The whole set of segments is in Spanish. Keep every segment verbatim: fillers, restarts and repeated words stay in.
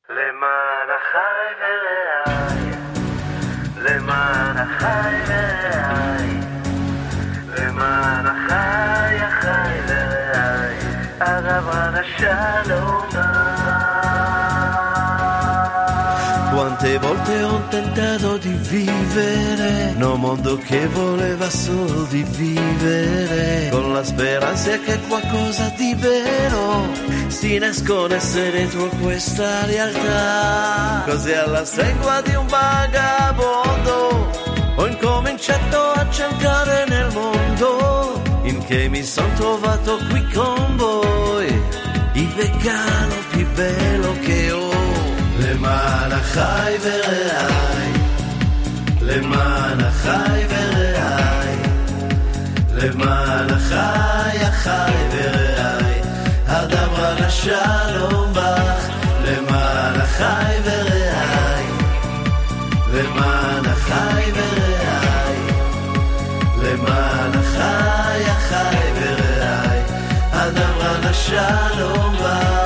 למען החי ורעי, למען החי ורעי, למען החי החי ורעי, הרב השלום. Quante volte ho tentato di vivere in un mondo che voleva solo di vivere, con la speranza che qualcosa di vero si nascondesse dentro questa realtà. Così alla stregua di un vagabondo ho incominciato a cercare nel mondo, in che mi son trovato qui con voi, il vegano più bello che ho. למען החי ורעי, למען החי ורעי, למען החי החי ורעי, הדבר השלום בך. למען החי ורעי, למען החי ורעי, למען החי החי ורעי, הדבר השלום בך.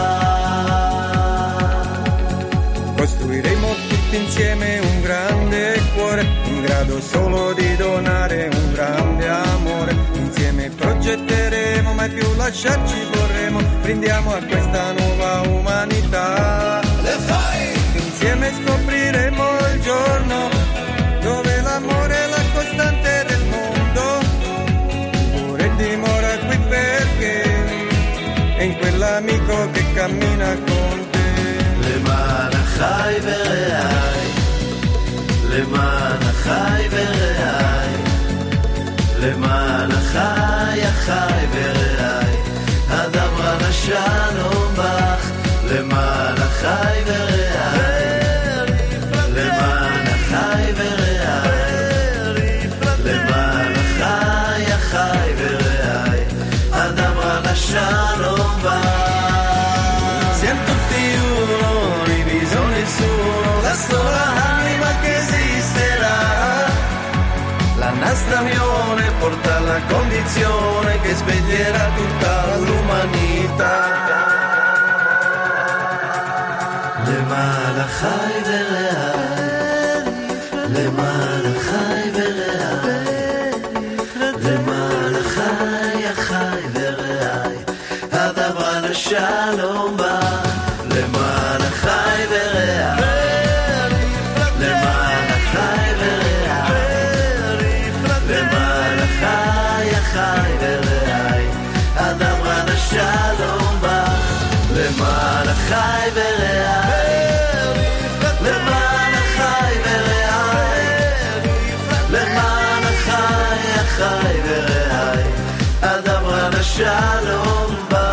Costruiremo tutti insieme un grande cuore, in grado solo di donare un grande amore. Insieme progetteremo, mai più lasciarci vorremmo. Brindiamo a questa nuova umanità. Le fai! Insieme scopriremo il giorno dove l'amore è la costante del mondo. Pure dimora qui perché è in quell'amico che cammina con te. למען החי ורעי, למען החי ורעי, למען החי החי ורעי, הדבר השלום בך. למען החי ורעי, למען החי ורעי, למען החי החי ורעי, הדבר השלום בך. La sola anima che esisterà, la nostra unione porta alla condizione che sveglierà tutta l'umanità. למען החי ורעי, למען החי ורעי, למען החי החי ורעי, הדבר השלום בא. למען החי ורעי, למען החי ורעי, למען החי החי ורעי, הדבר השלום בא. למען החי ורעי, למען החי ורעי, למען החי החי ורעי, הדבר השלום בא.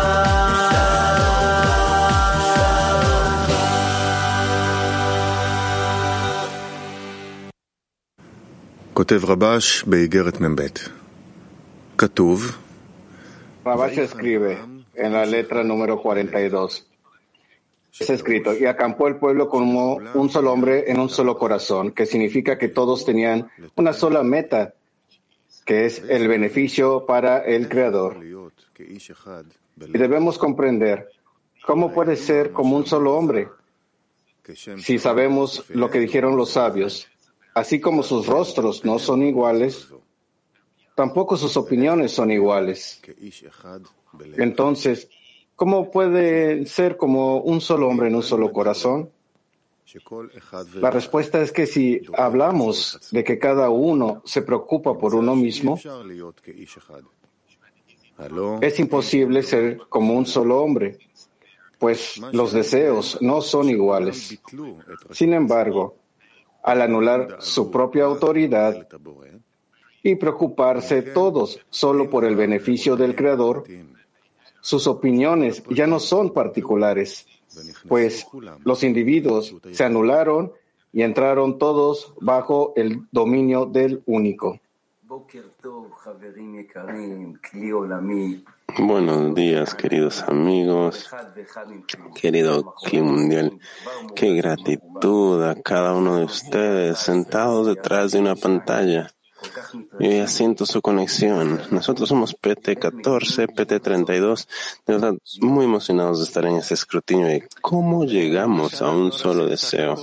כותב רבש באיגרת מ"ב. כתוב, Rabash escribe en la letra número cuarenta y dos. Es escrito, y acampó el pueblo como un solo hombre en un solo corazón, que significa que todos tenían una sola meta, que es el beneficio para el Creador. Y debemos comprender cómo puede ser como un solo hombre, si sabemos lo que dijeron los sabios. Así como sus rostros no son iguales, tampoco sus opiniones son iguales. Entonces, ¿cómo puede ser como un solo hombre en un solo corazón? La respuesta es que si hablamos de que cada uno se preocupa por uno mismo, es imposible ser como un solo hombre, pues los deseos no son iguales. Sin embargo, al anular su propia autoridad y preocuparse todos solo por el beneficio del Creador, sus opiniones ya no son particulares, pues los individuos se anularon y entraron todos bajo el dominio del único. Buenos días, queridos amigos, querido Cli Mundial. Qué gratitud a cada uno de ustedes sentados detrás de una pantalla Yo ya siento su conexión. Nosotros somos P T catorce, P T treinta y dos, de verdad muy emocionados de estar en ese escrutinio de cómo llegamos a un solo deseo.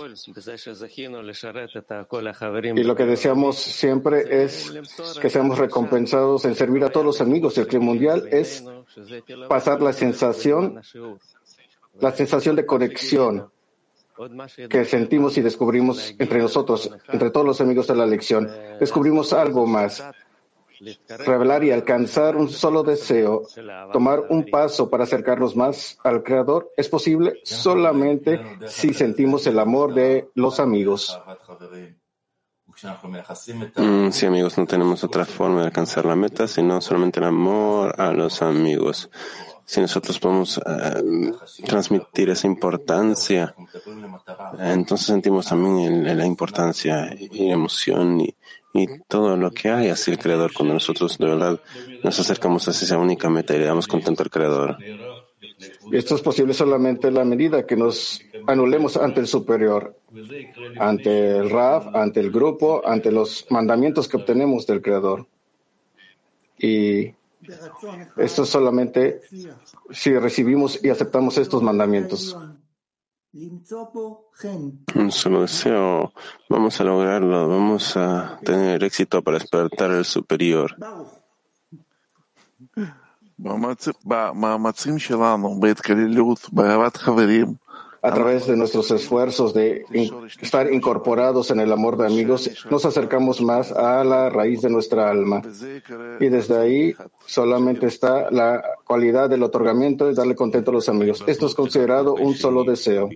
Y lo que deseamos siempre es que seamos recompensados en servir a todos los amigos del Club Mundial, es pasar la sensación, la sensación de conexión que sentimos y descubrimos entre nosotros, entre todos los amigos de la lección. Descubrimos algo más. Revelar y alcanzar un solo deseo, tomar un paso para acercarnos más al Creador, es posible solamente si sentimos el amor de los amigos. Mm, sí, amigos, no tenemos otra forma de alcanzar la meta, sino solamente el amor a los amigos. Si nosotros podemos uh, transmitir esa importancia, entonces sentimos también el, la importancia y la emoción y, y todo lo que hay hacia el Creador cuando nosotros de verdad nos acercamos hacia esa única meta y le damos contento al Creador. Esto es posible solamente en la medida que nos anulemos ante el superior, ante el Rav, ante el grupo, ante los mandamientos que obtenemos del Creador. Y esto es solamente si recibimos y aceptamos estos mandamientos. Un solo deseo, vamos a lograrlo, vamos a tener éxito para despertar el superior. A través de nuestros esfuerzos de in- estar incorporados en el amor de amigos, nos acercamos más a la raíz de nuestra alma. Y desde ahí solamente está la cualidad del otorgamiento y darle contento a los amigos. Esto es considerado un solo deseo.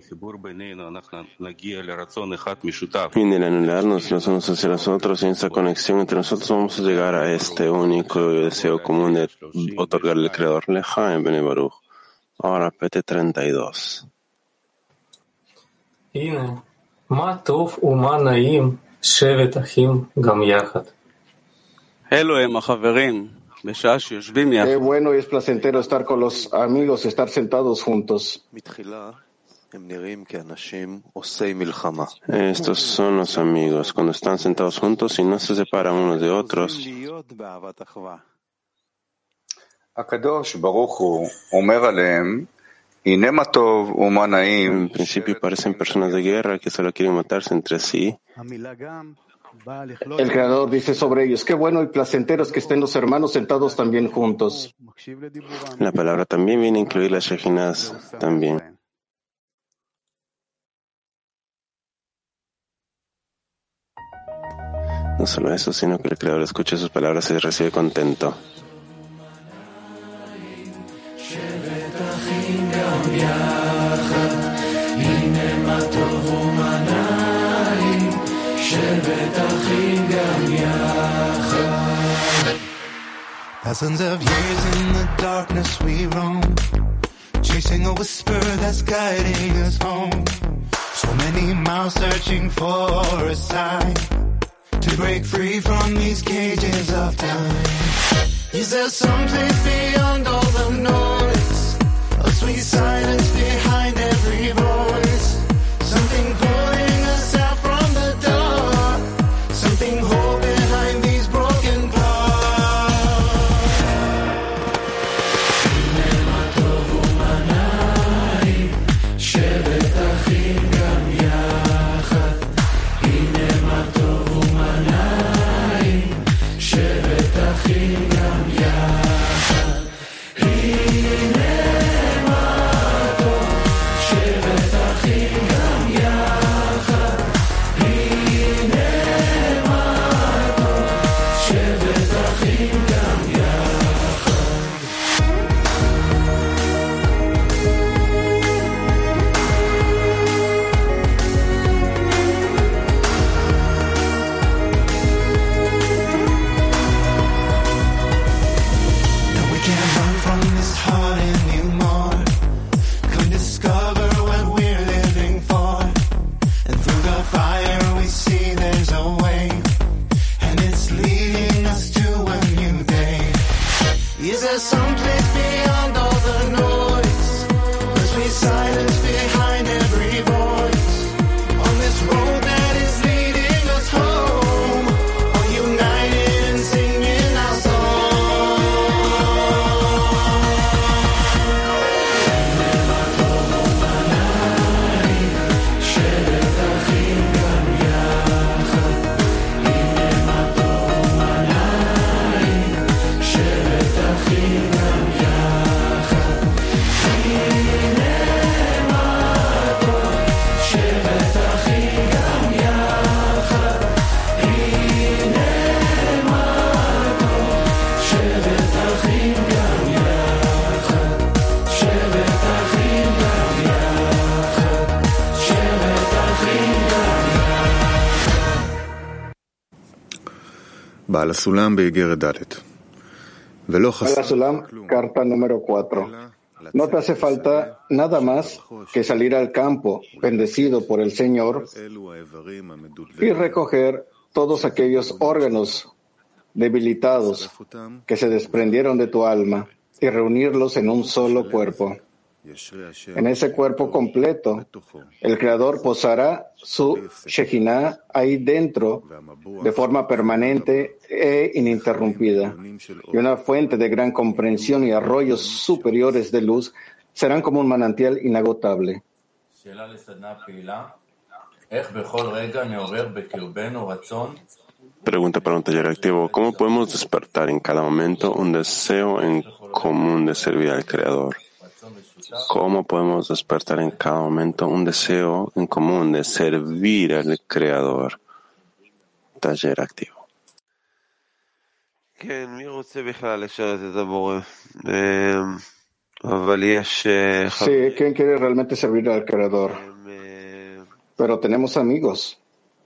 Y en el anularnos los unos hacia los otros y en esa conexión entre nosotros vamos a llegar a este único deseo común de otorgarle al Creador. Lejaim Bnei Baruch. Ahora P T treinta y dos. הנה, מה טוב ומה נעים שבת אחים גם יחד. אלו הם החברים, בשעה שיושבים Qué יחד. bueno y es placentero estar con los amigos, estar sentados juntos. Estos son los amigos, cuando están sentados juntos y no se separan unos de otros. הקדוש ברוך הוא אומר עליהם En principio parecen personas de guerra que solo quieren matarse entre sí. El Creador dice sobre ellos, qué bueno y placentero es que estén los hermanos sentados también juntos. La palabra también viene a incluir las Shekinahs también. No solo eso, sino que el Creador escucha sus palabras y recibe contento. Thousands of years in the darkness we roam, chasing a whisper that's guiding us home. So many miles searching for a sign to break free from these cages of time. Is there some place beyond all the noise, a sweet silence behind every voice, something pulling us out from the dark, something whole behind these broken clouds. בעל הסולם באיגרת ד' ולא Al חסר Sulam, carta número cuatro. No te hace falta nada más que salir al campo, bendecido por el Señor, y recoger todos aquellos órganos debilitados que se desprendieron de tu alma y reunirlos en un solo cuerpo. En ese cuerpo completo, el Creador posará su Shejinah ahí dentro de forma permanente e ininterrumpida. Y una fuente de gran comprensión y arroyos superiores de luz serán como un manantial inagotable. Pregunta para un taller activo. ¿Cómo podemos despertar en cada momento un deseo en común de servir al Creador? ¿Cómo podemos despertar en cada momento un deseo en común de servir al Creador? Taller activo. Sí, ¿quién quiere realmente servir al Creador? Pero tenemos amigos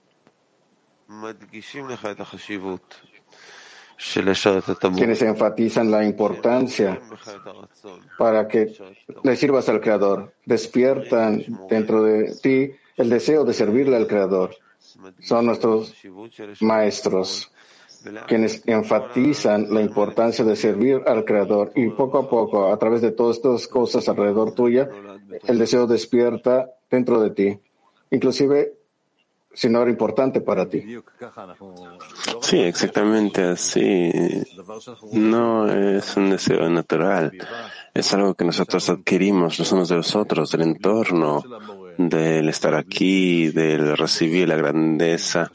quienes enfatizan la importancia para que le sirvas al Creador. Despiertan dentro de ti el deseo de servirle al Creador. Son nuestros maestros quienes enfatizan la importancia de servir al Creador, y poco a poco, a través de todas estas cosas alrededor tuya, el deseo despierta dentro de ti, inclusive si no era importante para ti. Sí, exactamente así. No es un deseo natural. Es algo que nosotros adquirimos los unos de los otros, del entorno, del estar aquí, del recibir la grandeza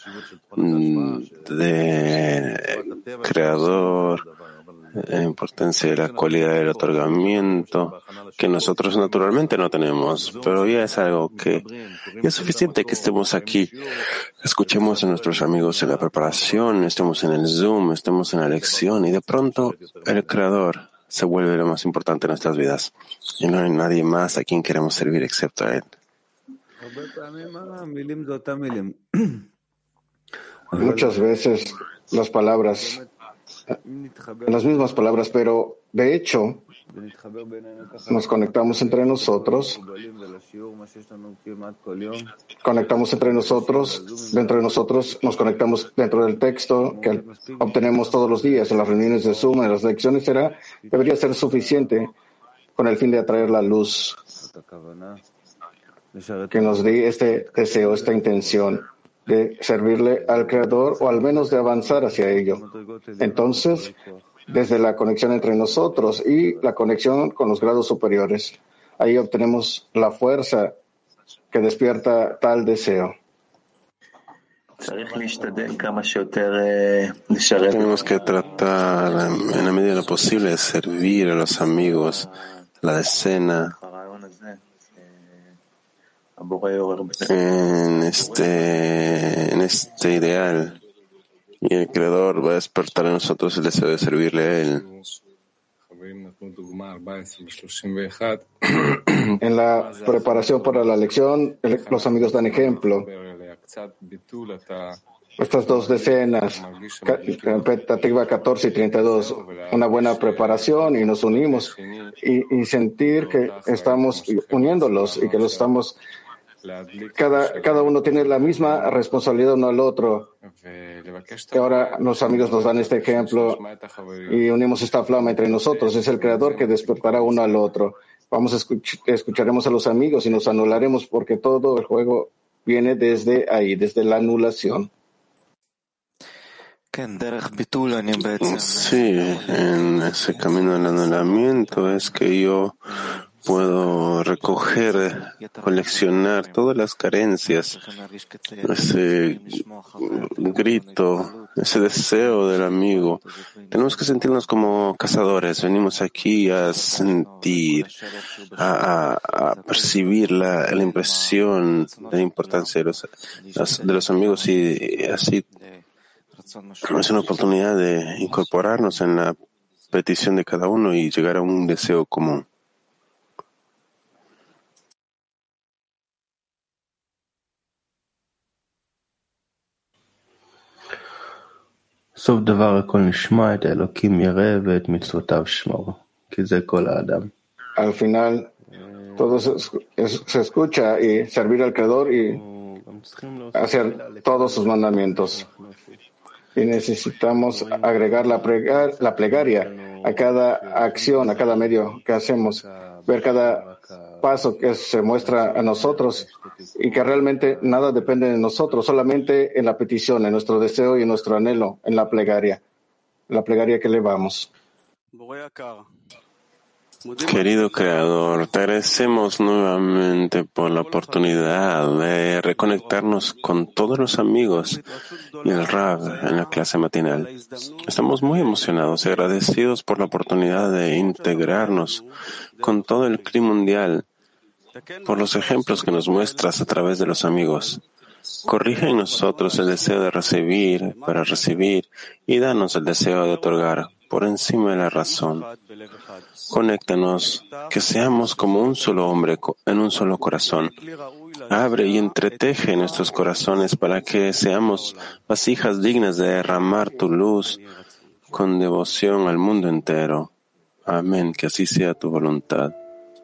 del Creador, la importancia de la cualidad del otorgamiento, que nosotros naturalmente no tenemos, pero ya es algo que ya es suficiente que estemos aquí, escuchemos a nuestros amigos en la preparación, estemos en el Zoom, estemos en la lección, y de pronto el Creador se vuelve lo más importante en nuestras vidas, y no hay nadie más a quien queremos servir excepto a Él. Muchas veces las palabras, las mismas palabras, pero de hecho nos conectamos entre nosotros, conectamos entre nosotros, dentro de nosotros nos conectamos dentro del texto que obtenemos todos los días en las reuniones de Zoom, en las lecciones, será, debería ser suficiente con el fin de atraer la luz que nos dé este deseo, esta intención de servirle al Creador, o al menos de avanzar hacia ello. Entonces, desde la conexión entre nosotros y la conexión con los grados superiores, ahí obtenemos la fuerza que despierta tal deseo. Tenemos que tratar en la medida de lo posible de servir a los amigos, la decena, en este, en este ideal, y el Creador va a despertar en nosotros el deseo de servirle a Él. En la preparación para la lección, los amigos dan ejemplo. Estas dos decenas, Petativa catorce y treinta y dos, una buena preparación, y nos unimos y, y sentir que estamos uniéndolos y que los estamos, cada, cada uno tiene la misma responsabilidad uno al otro. Que ahora los amigos nos dan este ejemplo y unimos esta flama entre nosotros. Es el Creador que despertará uno al otro. Vamos a escuch- escucharemos a los amigos y nos anularemos, porque todo el juego viene desde ahí, desde la anulación. Sí, en ese camino del anulamiento es que yo puedo recoger, coleccionar todas las carencias, ese grito, ese deseo del amigo. Tenemos que sentirnos como cazadores. Venimos aquí a sentir, a, a, a percibir la, la impresión de la importancia de los, de los amigos, y así es una oportunidad de incorporarnos en la petición de cada uno y llegar a un deseo común. סוף דבר הכל נשמע, את האלוקים ירא ואת מצוותיו שמור, כי זה כל האדם. Al final, todo se, se escucha y servir al Creador y hacer todos sus mandamientos. Y necesitamos agregar la, plegar, la plegaria a cada acción, a cada medio que hacemos, ver cada paso que se muestra a nosotros y que realmente nada depende de nosotros, solamente en la petición, en nuestro deseo y en nuestro anhelo, en la plegaria, la plegaria que elevamos. Querido Creador, te agradecemos nuevamente por la oportunidad de reconectarnos con todos los amigos y el Rav en la clase matinal. Estamos muy emocionados y agradecidos por la oportunidad de integrarnos con todo el Kli mundial, por los ejemplos que nos muestras a través de los amigos. Corrige en nosotros el deseo de recibir para recibir y danos el deseo de otorgar por encima de la razón. Conéctanos, que seamos como un solo hombre en un solo corazón. Abre y entreteje nuestros corazones para que seamos vasijas dignas de derramar tu luz con devoción al mundo entero. Amén, que así sea tu voluntad.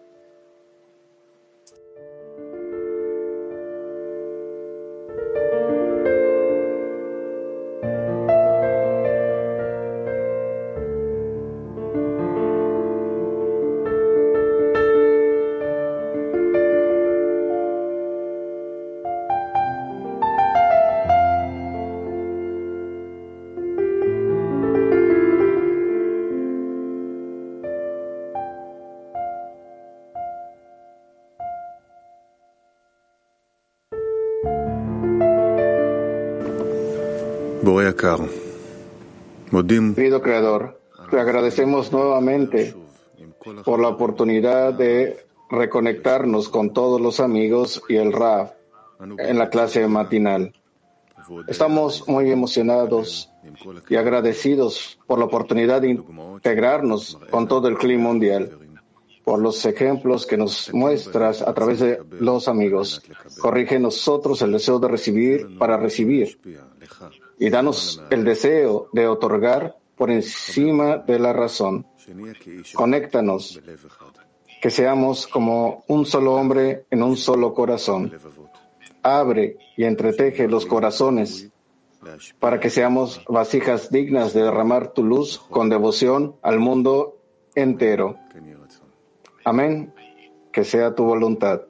Querido Creador, te agradecemos nuevamente por la oportunidad de reconectarnos con todos los amigos y el Rav en la clase matinal. Estamos muy emocionados y agradecidos por la oportunidad de integrarnos con todo el Kli mundial, por los ejemplos que nos muestras a través de los amigos. Corrige en nosotros el deseo de recibir para recibir y danos el deseo de otorgar por encima de la razón. Conéctanos, que seamos como un solo hombre en un solo corazón. Abre y entreteje los corazones para que seamos vasijas dignas de derramar tu luz con devoción al mundo entero. Amén. Que sea tu voluntad.